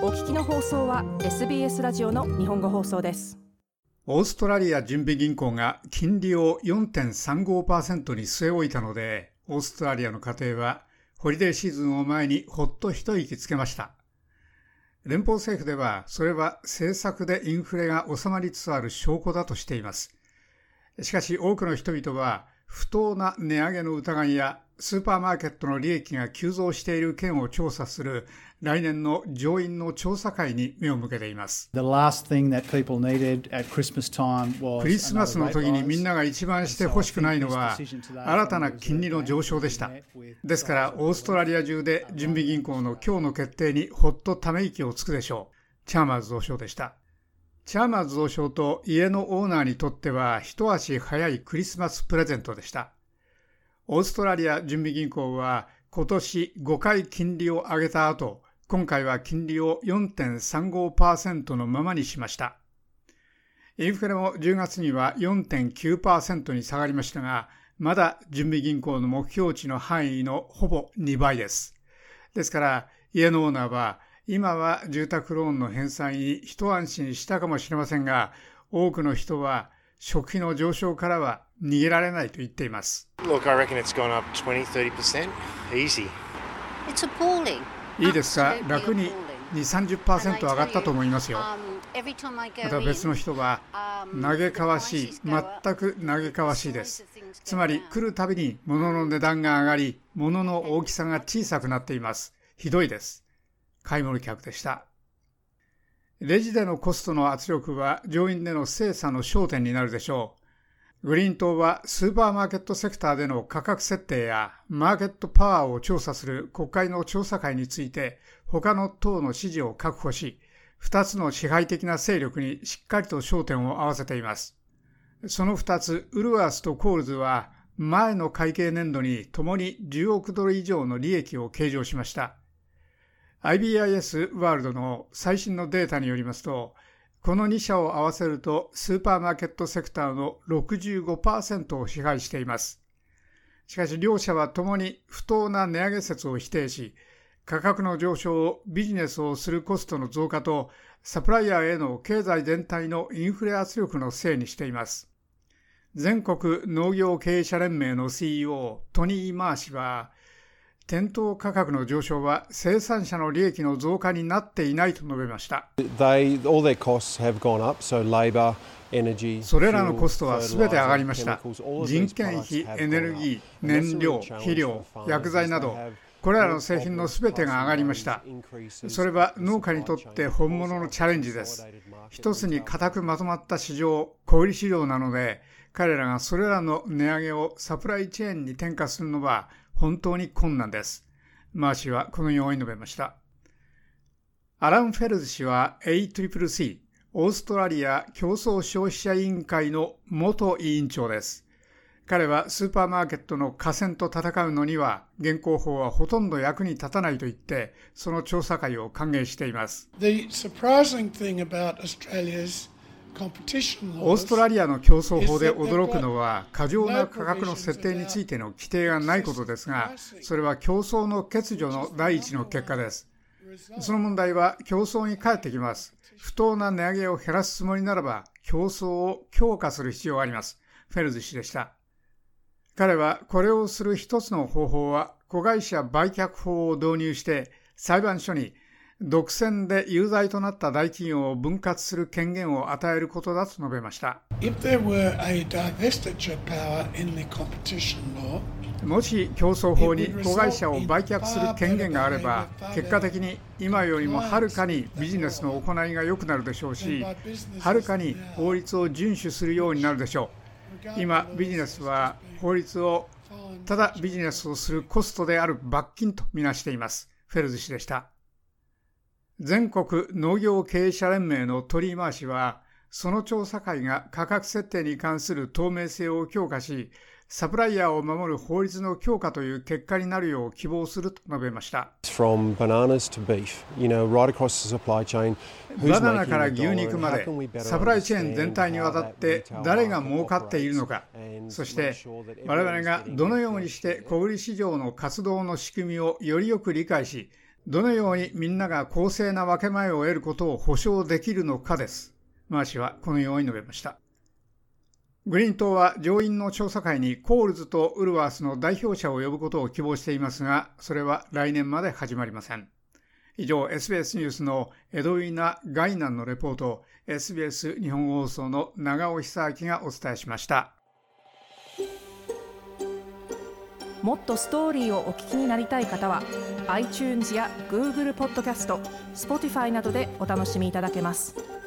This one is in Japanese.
お聞きの放送は SBS ラジオの日本語放送です。 オーストラリア準備銀行が金利を 4.35% に据え置いたので、オーストラリアの家庭はホリデーシーズンを前にほっと一息つけました。連邦政府ではそれは政策でインフレが収まりつつある証拠だとしています。しかし多くの人々は不当な値上げの疑いやスーパーマーケットの利益が急増している件を調査する来年の上院の調査会に目を向けています。クリスマスの時にみんなが一番してほしくないのは新たな金利の上昇でした。ですからオーストラリア中で準備銀行の今日の決定にほっとため息をつくでしょう。チャーマーズ蔵相でした。チャーマーズ蔵相と家のオーナーにとっては一足早いクリスマスプレゼントでした。オーストラリア準備銀行は今年5回金利を上げた後、今回は金利を 4.35% のままにしました。インフレも10月には 4.9% に下がりましたが、まだ準備銀行の目標値の範囲のほぼ2倍です。ですから家のオーナーは今は住宅ローンの返済に一安心したかもしれませんが、多くの人は食費の上昇からは逃げられないと言っています。 Look, I reckon it's gone up 20-30%. Easy. It's appalling. いいですか、楽に 2-30% 上がったと思いますよ。また別の人は嘆かわしい、全く嘆かわしいです。つまり来るたびに物の値段が上がり、物の大きさが小さくなっています。ひどいです。買い物客でした。レジでのコストの圧力は上院での精査の焦点になるでしょう。グリーン党はスーパーマーケットセクターでの価格設定やマーケットパワーを調査する国会の調査会について他の党の支持を確保し、2つの支配的な勢力にしっかりと焦点を合わせています。その2つ、ウルワースとコールズは前の会計年度にともに10億ドル以上の利益を計上しました。IBIS ワールドの最新のデータによりますと、この2社を合わせるとスーパーマーケットセクターの 65% を支配しています。しかし両社はともに不当な値上げ説を否定し、価格の上昇をビジネスをするコストの増加とサプライヤーへの経済全体のインフレ圧力のせいにしています。全国農業経営者連盟の CEO トニー・マー氏は、店頭価格の上昇は生産者の利益の増加になっていないと述べました。それらのコストはすべて上がりました。人件費、エネルギー、燃料、肥料、薬剤など、これらの製品のすべてが上がりました。それは農家にとって本物のチャレンジです。一つに固くまとまった市場、小売市場なので、彼らがそれらの値上げをサプライチェーンに転嫁するのは本当に困難です。マー氏はこのように述べました。アラン・フェルズ氏は ACCC、オーストラリア競争消費者委員会の元委員長です。彼はスーパーマーケットの寡占と戦うのには現行法はほとんど役に立たないと言って、その調査会を歓迎しています。オーストラリアの競争法で驚くのは過剰な価格の設定についての規定がないことですが、それは競争の欠如の第一の結果です。その問題は競争に返ってきます。不当な値上げを減らすつもりならば競争を強化する必要があります。フェルズ氏でした。彼はこれをする一つの方法は子会社売却法を導入して裁判所に独占で有罪となった大企業を分割する権限を与えることだと述べました。もし競争法に子会社を売却する権限があれば、結果的に今よりもはるかにビジネスの行いが良くなるでしょうし、はるかに法律を遵守するようになるでしょう。今ビジネスは法律をただビジネスをするコストである罰金とみなしています。フェルズ氏でした。全国農業経営者連盟のトリー・マー氏は、その調査会が価格設定に関する透明性を強化し、サプライヤーを守る法律の強化という結果になるよう希望すると述べました。バナナから牛肉までサプライチェーン全体にわたって誰が儲かっているのか、そして我々がどのようにして小売市場の活動の仕組みをよりよく理解し、 どのようにみんなが公正な分け前を得ることを保証できるのかです。マー氏はこのように述べました。グリーン党は上院の調査会にコールズとウルワースの代表者を呼ぶことを希望していますが、それは来年まで始まりません。以上、SBS ニュースのエドウィナ・ガイナンのレポートを SBS 日本放送の長尾久明がお伝えしました。 もっとストーリーをお聞きになりたい方は iTunes や Google ポッドキャスト、Spotify などでお楽しみいただけます。